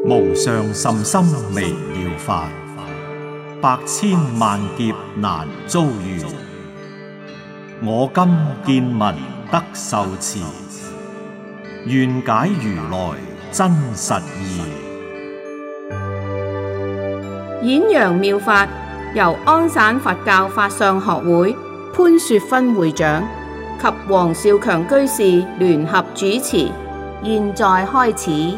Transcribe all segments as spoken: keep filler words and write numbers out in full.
無上甚深微妙法，百千萬劫難遭遇。我今見聞得受持，願解如來真實義。 演揚妙法由安省佛教法相學會潘雪芬會長及黃少強居士聯合主持，現在開始。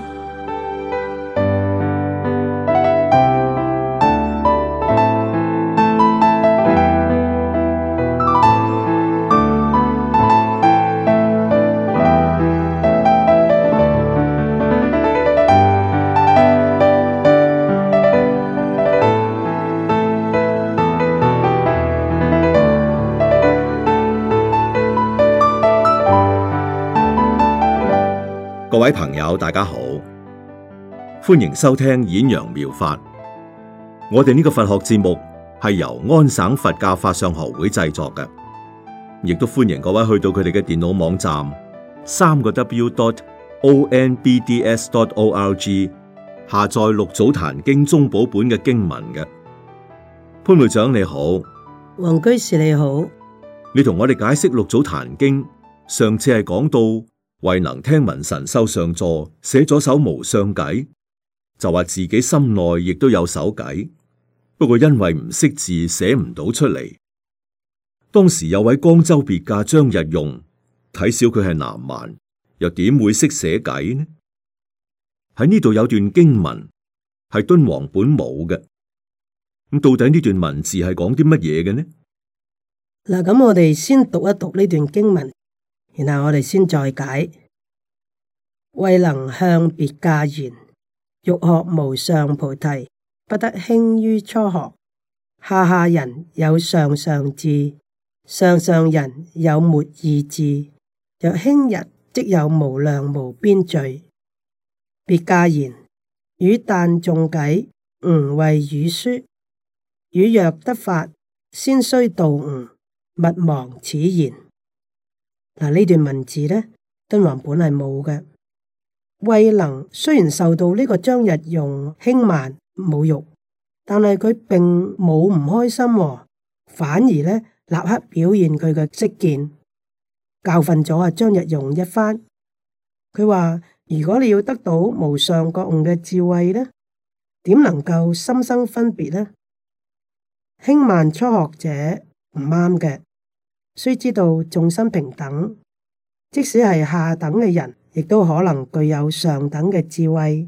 各位朋友，大家好，歡迎收聽演揚妙法。我哋呢個佛學節目係由安省佛教法相學會製作嘅，亦都歡迎各位去到佢哋嘅電腦網站三個 W dot O N B D S dot O R G 下載六祖壇經宗寶本嘅經文嘅。潘會長你好， 黃居士你好， 你同我哋解釋六祖壇經，上次係講到慧能聽聞神秀上座寫咗首無相偈，就話自己心內亦都有首偈，不過因為唔識字寫唔到出嚟。當時有位江州別駕張日用睇小佢係南蠻，又點會識寫偈呢？喺呢度有段經文係敦煌本冇嘅，咁到底呢段文字係講啲乜嘢嘅呢？ 嗱，咁我哋先讀一讀呢段經文，然後我哋先再解。慧能向別駕言：欲學無上菩提，不得輕於初學。下下人有上上智，上上人有沒意智。若輕人，即有無量無邊罪。別駕言：汝但誦偈，吾為汝說。汝若得法，先須度吾，勿忘此言。嗱，呢段文字呢，敦煌本係冇嘅。慧能雖然受到呢個張日用輕慢侮辱，但係佢並冇唔開心喎，反而呢立刻表現佢嘅識見，教訓咗阿張日用一番。佢話：如果你要得到無上覺悟嘅智慧呢，點能夠心生分別呢？輕慢初學者唔啱嘅。須知道眾生平等，即使係下等嘅人，亦都可能具有上等嘅智慧。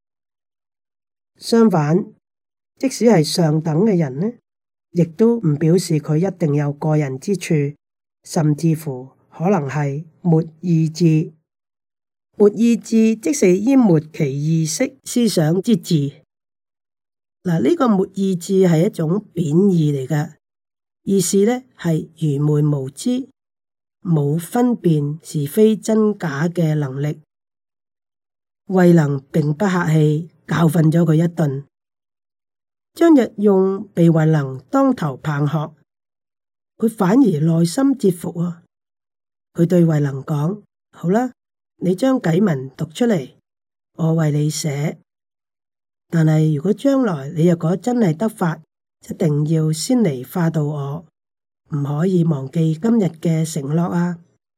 相反，即使係上等嘅人呢，亦都唔表示佢一定有過人之處，甚至乎可能係沒意智。沒意智即是淹沒其意識思想之智。嗱，呢個沒意智係一種貶義嚟㗎。意思呢係愚昧無知，冇分辨是非真假嘅能力。慧能並不客氣，教訓咗佢一頓。張日用被慧能當頭棒喝，佢反而內心折服啊！佢對慧能講：好啦，你將偈文讀出嚟，我為你寫。但係如果將來你若果真係得法，一定要先嚟化度我，唔可以忘記今日嘅承諾啊！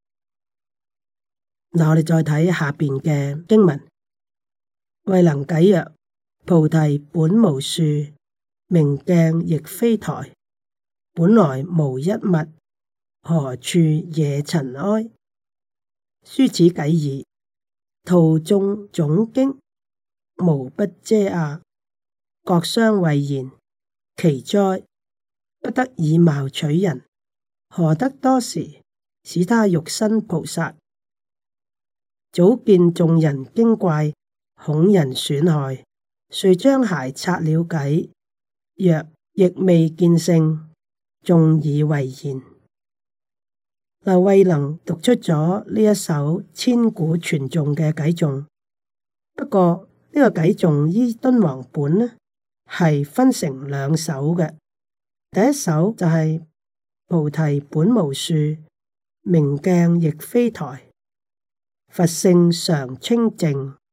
嗱，我哋再睇下邊嘅經文。慧能偈曰：菩提本無樹，明鏡亦非台，本來無一物，何處惹塵埃？書此偈已，圖眾總經，無不遮訝，各相謂言。奇哉！不得以貌取人，何得多時使他欲生菩薩？早見眾人驚怪，恐人損害，遂將鞋擦了偈，若亦未見性，眾以為然。嗱，慧能讀出咗呢一首千古傳頌嘅偈頌，不過呢、這個偈頌依敦煌本呢，係分成兩首嘅。第一首就係、是、菩提本無樹，明鏡亦非台，佛性常清淨，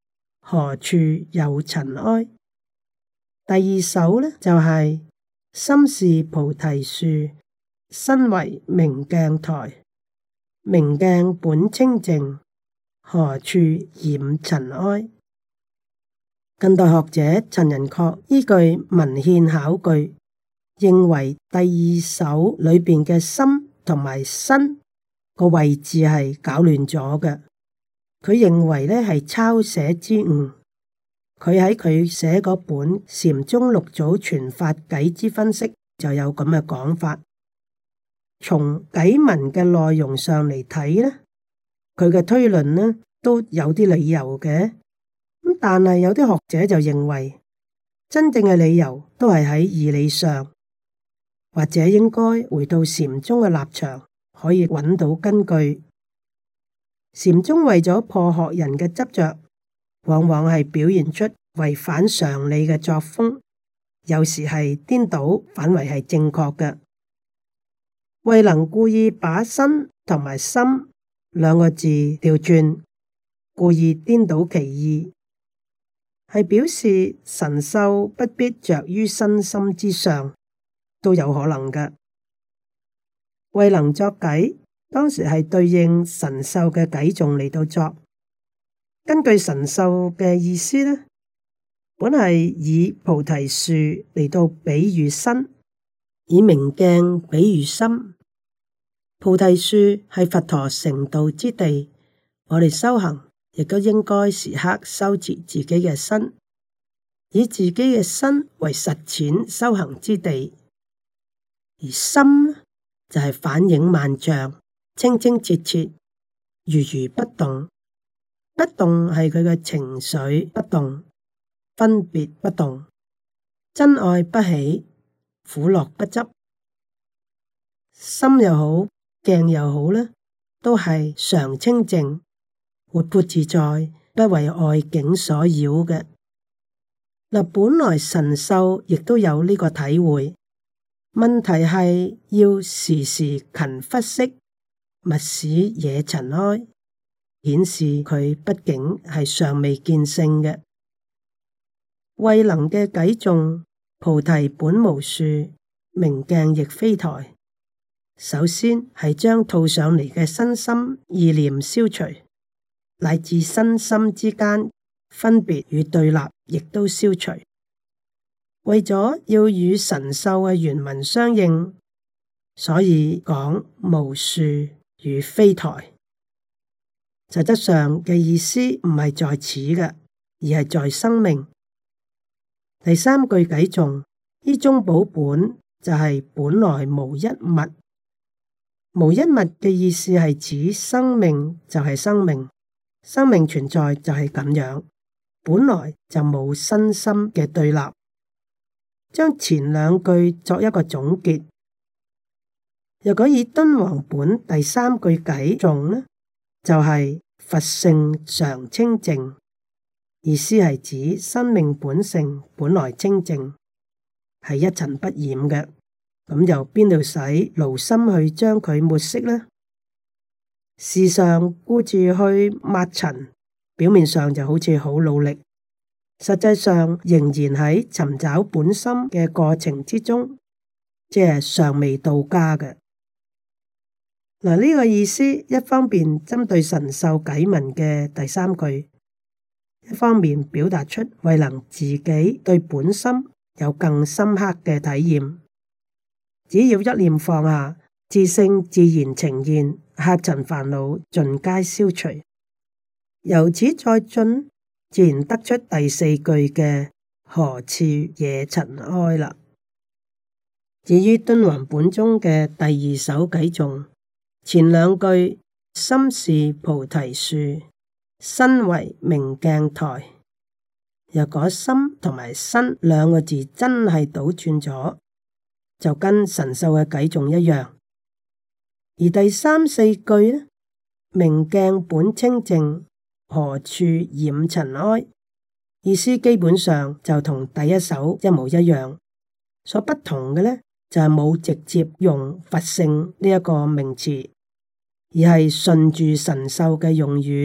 何處有塵埃。第二首呢，就係、是、心是菩提樹，身為明鏡台，明鏡本清淨，何處染塵埃。近代學者陳寅恪依據文獻考據，認為第二首裏邊嘅心同埋身個位置係搞亂咗嘅。佢認為呢係抄寫之誤。佢喺佢寫嗰本《禪宗六祖傳法偈之分析》就有咁嘅講法。從偈文嘅內容上嚟睇呢，佢嘅推論呢都有啲理由嘅。咁但係有啲學者就認為，真正嘅理由都係喺義理上，或者應該回到禪宗嘅立場，可以揾到根據。禪宗為咗破學人嘅執着，往往係表現出違反常理嘅作風，有時係顛倒反為係正確嘅。慧能故意把身同埋心兩個字調轉，故意顛倒其意，係表示神秀不必着於身心之上，都有可能嘅。慧能作偈，當時係對應神秀嘅偈頌嚟到作。根據神秀嘅意思呢，本係以菩提樹嚟到比喻身，以明鏡比喻心。菩提樹係佛陀成道之地，我哋修行亦都應該時刻修持自己嘅身，以自己嘅身為實踐修行之地。而心就係反映萬象，清清澈澈，如如不動。不動係佢嘅情緒不動，分別不動，真愛不起，苦樂不執。心又好，鏡又好呢，都係常清淨、活潑自在，不為外境所擾嘅。嗱，本來神秀亦都有呢個體會，問題係要時時勤拂拭，勿使惹塵埃。顯示佢畢竟係尚未見性嘅。慧能嘅偈頌，菩提本無樹，明鏡亦非台。首先係將套上嚟嘅身心意念消除，乃至身心之間分別與對立，亦都消除。為咗要與神秀嘅原文相應，所以講無樹與非台。實質上嘅意思唔係在此嘅，而係在生命。第三句偈頌，依中寶本就係本來無一物。無一物嘅意思係指生命就係生命，生命存在就係咁樣，本來就冇身心嘅對立。將前兩句作一個總結。如果以敦煌本第三句偈頌呢，就係、是。佛性常清淨，意思係指生命本性本來清淨，係一塵不染嘅。咁由邊度使勞心去將佢抹熄呢？時常顧住去抹塵，表面上就好似好努力，實際上仍然喺尋找本心嘅過程之中，即係尚未到家嘅。嗱，呢個意思一方面針對神秀偈文嘅第三句，一方面表達出慧能自己對本心有更深刻嘅體驗。只要一念放下，自性自然呈現，客塵煩惱盡皆消除。由此再進，自然得出第四句嘅何處惹塵埃啦。至於敦煌本中嘅第二首偈頌，前兩句心是菩提樹，身為明鏡台。若果心同埋身兩個字真係倒轉咗，就跟神秀嘅偈頌一樣。而第三四句呢，明鏡本清淨，何處染塵埃，意思基本上就同第一首一模一樣。所不同嘅呢，就係冇直接用佛性呢一個名詞，而係順住神秀嘅用語，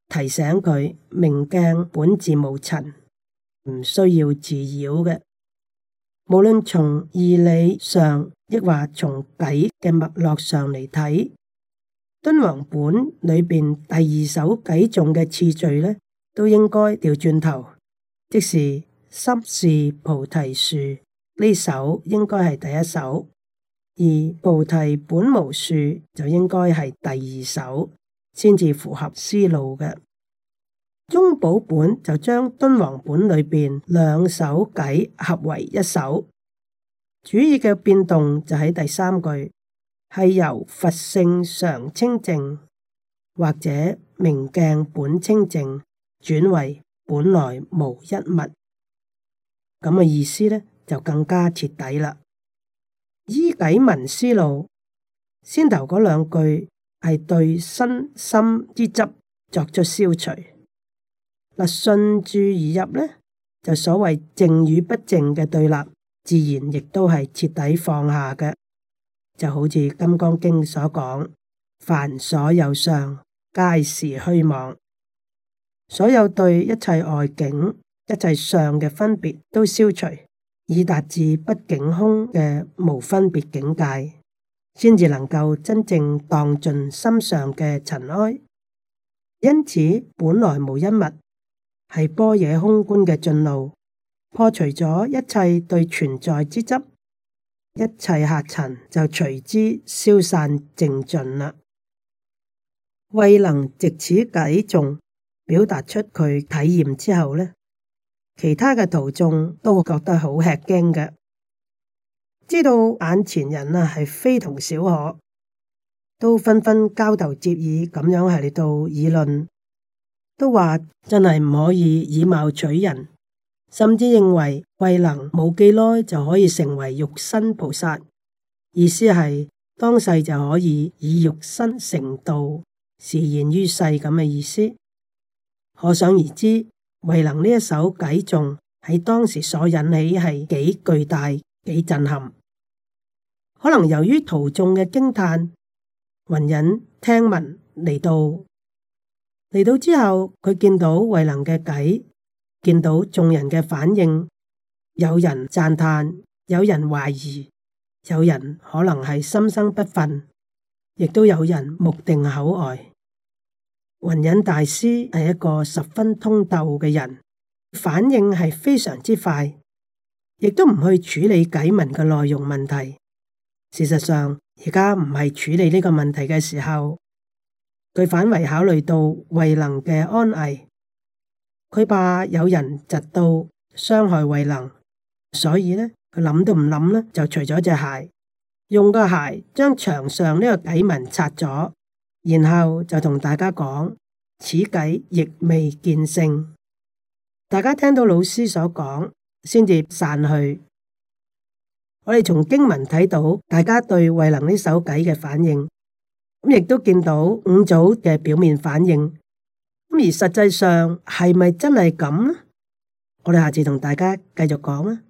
提醒佢明鏡本自無塵，唔需要自擾嘅。無論從義理上，亦或從偈嘅脈絡上嚟睇，敦煌本裏邊第二首偈頌嘅次序呢，都應該調轉頭，即是心是菩提樹呢首應該係第一首，而菩提本無樹就應該係第二首，先至符合思路嘅。宗寶本就將敦煌本裏邊兩首偈合為一首，主要嘅變動就喺第三句，係由佛性常清淨或者明鏡本清淨轉為本來無一物，咁嘅意思呢就更加徹底啦。依偈文思路，先頭嗰兩句係對身心之執作出消除。嗱，順住而入呢，就所謂淨與不淨嘅對立，自然亦都係徹底放下嘅。就好似《金剛經》所講，凡所有相，皆是虛妄。所有對一切外境、一切相嘅分別都消除，以達至不境空嘅無分別境界，先至能夠真正蕩盡心上嘅塵埃。因此，本來無一物係般若空觀嘅進路，破除咗一切對存在之執，一切客塵就隨之消散淨盡啦。慧能藉此偈頌表達出佢體驗之後呢，其他嘅徒眾都覺得好吃驚嘅，知道眼前人啊係非同小可，都紛紛交頭接耳咁樣係嚟到議論。都話真係唔可以以貌取人，甚至認為慧能冇幾耐就可以成為肉身菩薩，意思係當世就可以以肉身成道，示現於世咁嘅意思。可想而知，慧能呢一首偈頌喺當時所引起係幾巨大、幾震撼。可能由於徒眾嘅驚嘆，雲隱聽聞嚟到。嚟到之後，佢見到慧能嘅偈，見到眾人嘅反應，有人讚嘆，有人懷疑，有人可能係心生不忿，亦都有人目定口呆。雲隱大師係一個十分通透嘅人，反應係非常之快，亦都唔去處理偈文嘅內容問題。事實上，而家唔係處理呢個問題嘅時候。佢反為考慮到慧能嘅安危，佢怕有人窒到傷害慧能，所以呢，佢諗都唔諗呢，就除咗隻鞋，用個鞋將牆上呢個偈文擦咗，然後就同大家講：此偈亦未見性。大家聽到老師所講，先至散去。我哋從經文睇到大家對慧能呢首偈嘅反應。咁亦都見到五祖嘅表面反應，咁而實際上係咪真係咁呢？我哋下次同大家繼續講啊！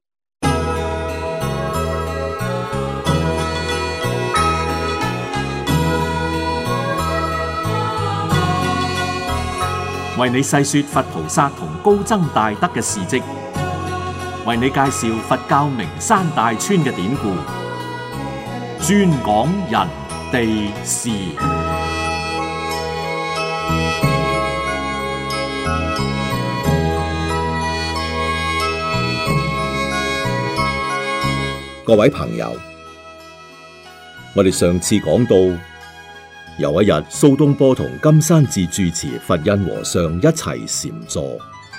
為你細說佛菩薩同高僧大德嘅事跡，為你介紹佛教名山大川嘅典故，專講人地事。 各位朋友，我哋上次講到，有一日蘇東坡同金山寺住持佛印和尚一齊禪坐，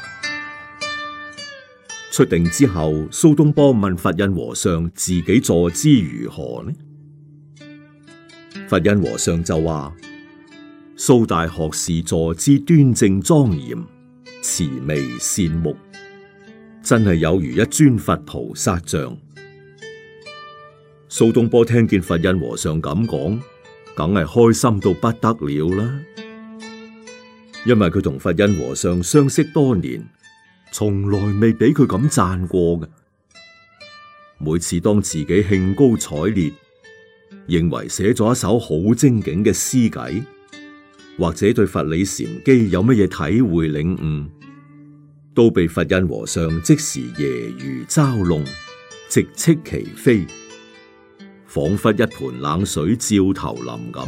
出定之後，蘇東坡問佛印和尚自己坐姿如何呢？佛印和尚就話：蘇大學士坐姿端正莊嚴，慈眉善目，真係有如一尊佛菩薩像。蘇東坡聽見佛印和尚咁講，梗係開心到不得了啦，因為佢同佛印和尚相識多年，從來未俾佢咁讚過嘅。每次當自己興高采烈，認為寫咗一首好精警嘅詩偈， 或者對佛理禪機有乜嘢體會領悟，都被佛印和尚即時揶揄嘲弄，直斥其非，仿佛一盆冷水照頭淋咁。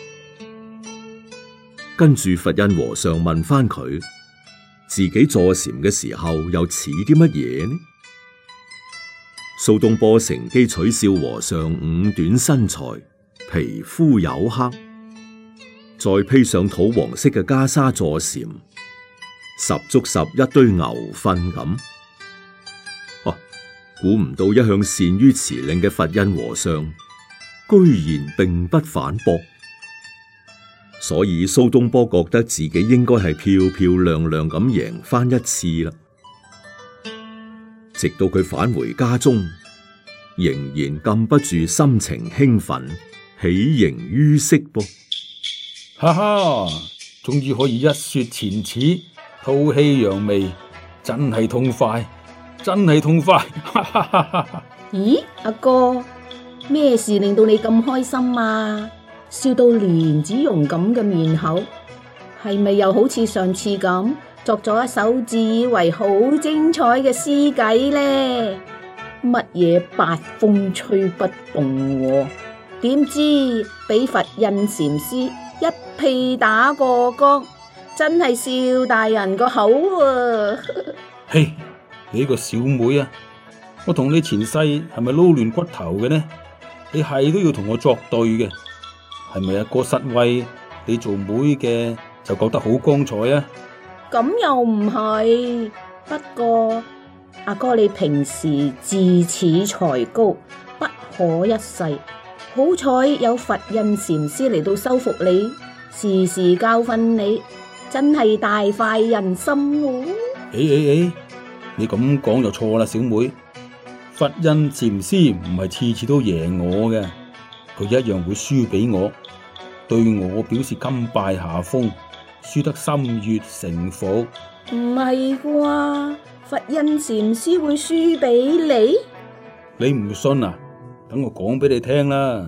跟住佛印和尚問翻佢，自己坐禪嘅時候又似啲乜嘢呢？蘇東坡乘機取笑和尚五短身材，皮膚黝黑，再披上土黃色嘅袈裟坐禪，十足十一堆牛糞咁。哦、啊，估唔到一向善於辭令嘅佛印和尚，居然並不反駁。所以蘇東坡覺得自己應該係漂漂亮亮咁贏翻一次啦。直到佢返回家中，仍然禁不住心情興奮，喜形於色噃。 哈哈，終於可以一雪前恥，吐氣揚眉，真係痛快，真係痛快！哈哈哈哈。 咦，阿哥，咩事令到你咁開心啊？笑到蓮子蓉咁嘅面口，係咪又好似上次咁作咗一首自以為好精彩嘅詩偈呢？乜嘢八風吹不動，點知俾佛印禪師一屁打過江，真係笑大人個口啊！ 嘿，你個小妹啊，我同你前世係咪撈亂骨頭嘅呢？你係都要同我作對嘅。係咪阿哥失威？你做妹嘅就覺得好光彩啊？ 咁又唔係，不過阿哥你平時自恃才高，不可一世。好彩有佛印禪師嚟到收服你，時時教訓你，真係大快人心喎！ 誒誒誒，你咁講就錯啦，小妹。佛印禪師唔係次次都贏我嘅。佢一樣會輸俾我，對我表示甘拜下風，輸得心悅誠服。 唔係啩？佛印禪師會輸俾你？ 你唔信啊？等我講俾你聽啦。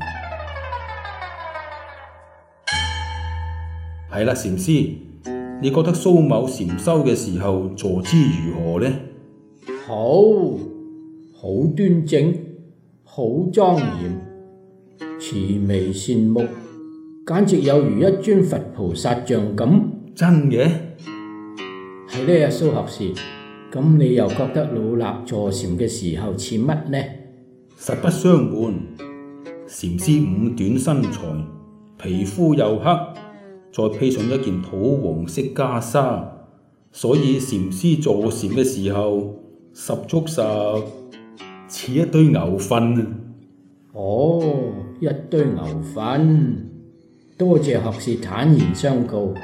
係啦，禪師，你覺得蘇某禪修嘅時候坐姿如何呢？ 好，好端正，好莊嚴。慈眉善目，簡直有如一尊佛菩薩像咁。 真嘅？ 係呢，蘇學士，咁你又覺得老衲坐禪嘅時候似乜呢？ 實不相瞞，禪師五短身材，皮膚又黑，再披上一件土黃色袈裟，所以禪師坐禪嘅時候十足十似一堆牛糞啊！ 哦，一堆牛糞，多謝學士坦然相告。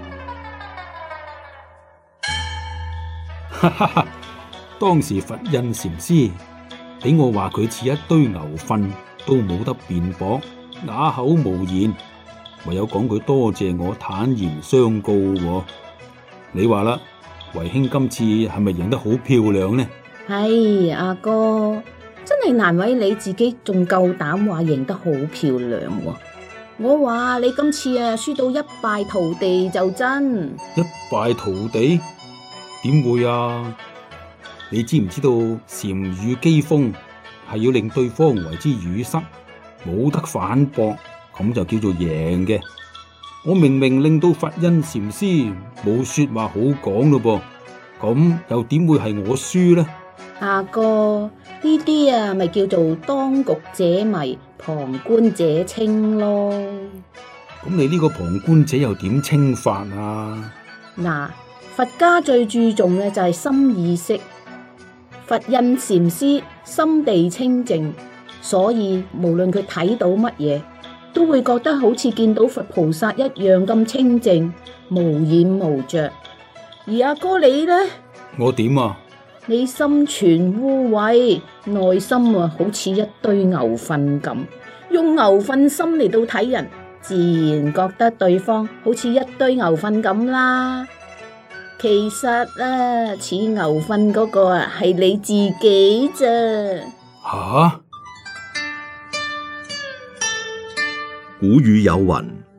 哈哈哈！當時佛印禪師俾我話佢似一堆牛糞，都冇得辯駁，啞口無言，唯有講句多謝我坦然相告。你話啦，為兄今次係咪贏得好漂亮呢？ 係阿哥。真係難為你自己，仲夠膽話贏得好漂亮喎！我話你今次啊，輸到一敗塗地就真。 一敗塗地？點會啊？你知唔知道禪語機鋒係要令對方為之語塞，冇得反駁，咁就叫做贏嘅。我明明令到佛印禪師冇說話好講咯噃，咁又點會係我輸呢？ 阿哥，呢啲啊，咪叫做當局者迷，旁觀者清咯。 咁你呢個旁觀者又點清法啊？ 嗱，佛家最注重嘅就係心意識。佛印禪師心地清淨，所以無論佢睇到乜嘢，都會覺得好似見到佛菩薩一樣咁清淨，無染無着。而阿哥你呢？ 我點啊？ 你心存污穢，內心啊好似一堆牛糞咁，用牛糞心嚟到睇人，自然覺得對方好似一堆牛糞咁啦。其實啊，似牛糞嗰個啊係你自己咋。 吓、啊？ 古語有云：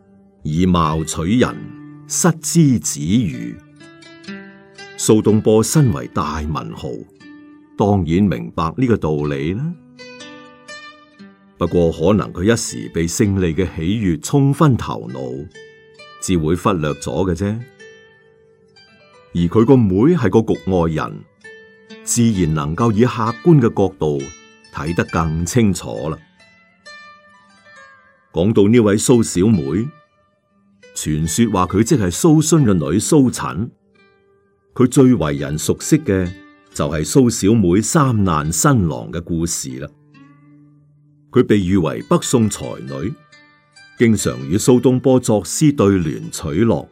以貌取人，失之子羽。蘇東坡身為大文豪，當然明白呢個道理啦。不過可能佢一時被勝利嘅喜悅沖昏頭腦，只會忽略咗嘅啫。而佢個妹係個局外人，自然能夠以客觀嘅角度睇得更清楚啦。講到呢位蘇小妹，傳說話佢即係蘇洵嘅女蘇陳，佢最為人熟悉嘅就係蘇小妹三難新郎嘅故事啦。佢被譽為北宋才女，經常與蘇東坡作詩對聯取樂。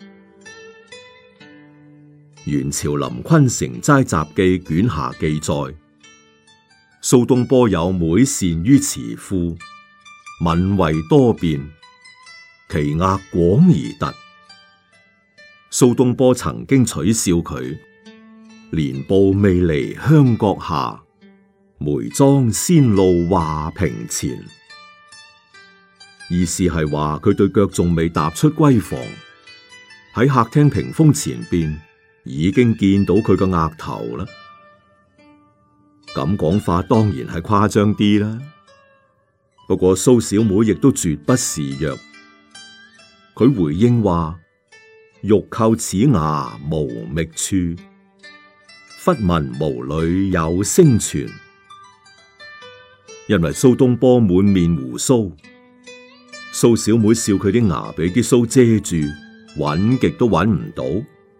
元朝林坤《成齋雜記》卷下記載，蘇東坡有妹善於詞賦，敏慧多變，其額廣而突。蘇東坡曾經取笑佢：蓮步未離香閣下，梅妝先露畫屏前。意思係話佢對腳仲未踏出閨房，喺客廳屏風前邊已經見到佢個額頭啦。咁講法當然係誇張啲啦。不過蘇小妹亦都絕不示弱，佢回應話：玉扣齒牙無覓處，忽聞毛裏有聲傳。因為蘇東坡滿面鬍鬚，蘇小妹笑佢啲牙俾啲鬚遮住，揾極都揾唔到。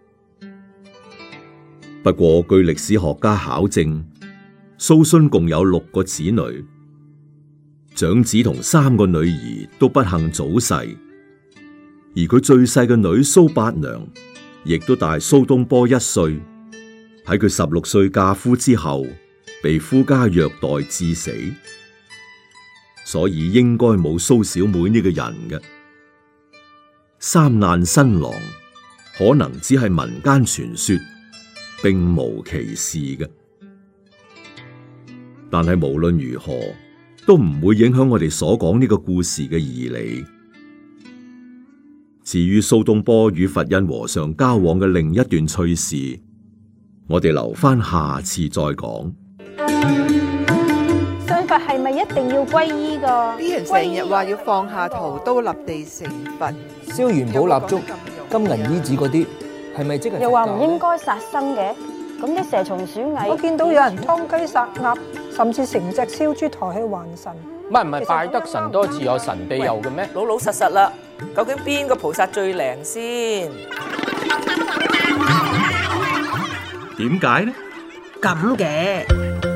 不過據歷史學家考證，蘇洵共有六個子女，長子同三個女兒都不幸早逝，而佢最細嘅女蘇八娘亦都大蘇東坡一歲。喺佢十六歲嫁夫之後，被夫家虐待致死，所以應該冇蘇小妹呢個人嘅。三難新郎可能只係民間傳說，並無其事嘅。但係無論如何，都唔會影響我哋所講呢個故事嘅義理。至於蘇東坡與佛印和尚交往嘅另一段趣事，我哋留翻下次再講。 信佛係咪一定要皈依㗎？ 啲人成日話要放下屠刀立地成佛， 燒元寶蠟燭、金銀衣紙嗰啲，係咪即係？ 又話唔應該殺生嘅，咁啲蛇蟲鼠蟻， 我見到有人劏雞殺鴨，甚至成隻燒豬抬去還神。 唔係唔係，拜得神多自有神庇佑嘅咩？ 老老實實啦，究竟邊個菩薩最靈先？ 點解呢？ 咁嘅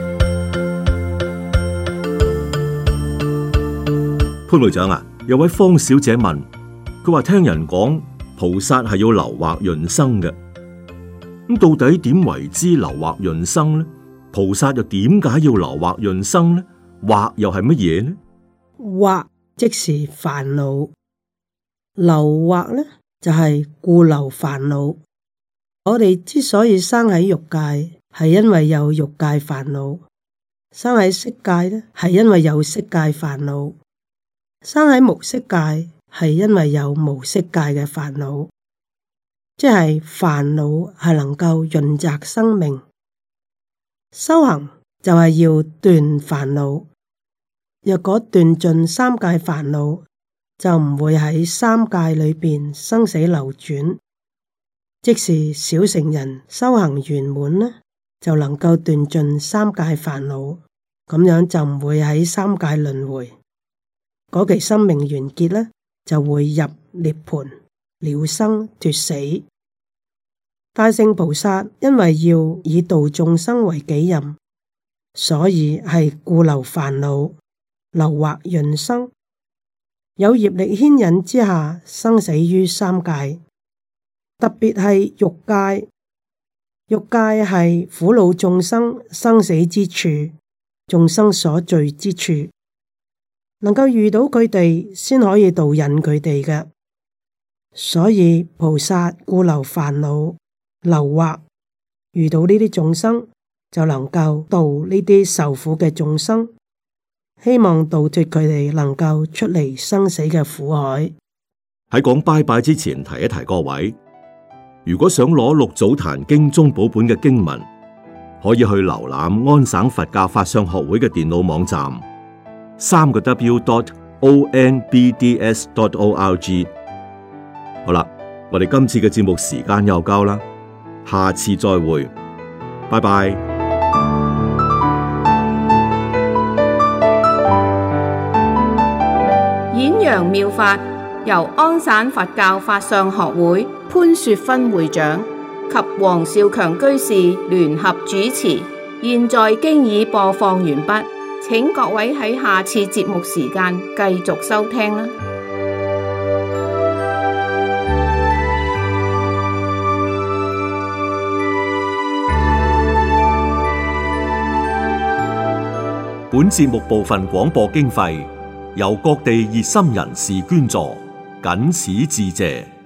潘會長啊，有位方小姐問，佢話聽人講菩薩係要留惑潤生嘅，咁到底點為之留惑潤生呢？菩薩又點解要留惑潤生呢？惑又係乜嘢呢？ 惑即是煩惱，留惑呢就係故留煩惱。我哋之所以生喺欲界，係因為有欲界煩惱；生喺色界呢，係因為有色界煩惱；生喺無色界，係因為有無色界嘅煩惱。即係煩惱係能夠潤澤生命，修行就係要斷煩惱。若果斷盡三界煩惱，就唔會喺三界裏邊生死流轉。即是小乘人修行圓滿呢，就能夠斷盡三界煩惱，咁樣就唔會喺三界輪迴。嗰期生命完結呢，就會入涅槃了生脫死。大聖菩薩因為要以度眾生為己任，所以係故留煩惱，留惑潤生。有業力牽引之下，生死於三界。特別係欲界，欲界係苦惱眾生生死之處，眾生所聚之處，能夠遇到佢哋先可以導引佢哋嘅。所以菩薩故留煩惱、留惑，遇到呢啲眾生就能夠度呢啲受苦嘅眾生，希望度脫佢哋能夠出離生死嘅苦海。 喺講拜拜之前提一提各位，如果想攞六祖壇經宗寶本嘅經文，可以去瀏覽安省佛教法相學會嘅電腦網站，三個 W dot O N B D S dot O R G。好啦，我哋今次嘅節目時間又夠啦，下次再會，拜拜。 演揚妙法由安省佛教法相學會潘雪芬會長及黃少強居士聯合主持，現在經已播放完畢，請各位喺下次節目時間繼續收聽啦。 本節目部分廣播經費由各地熱心人士捐助，謹此致謝。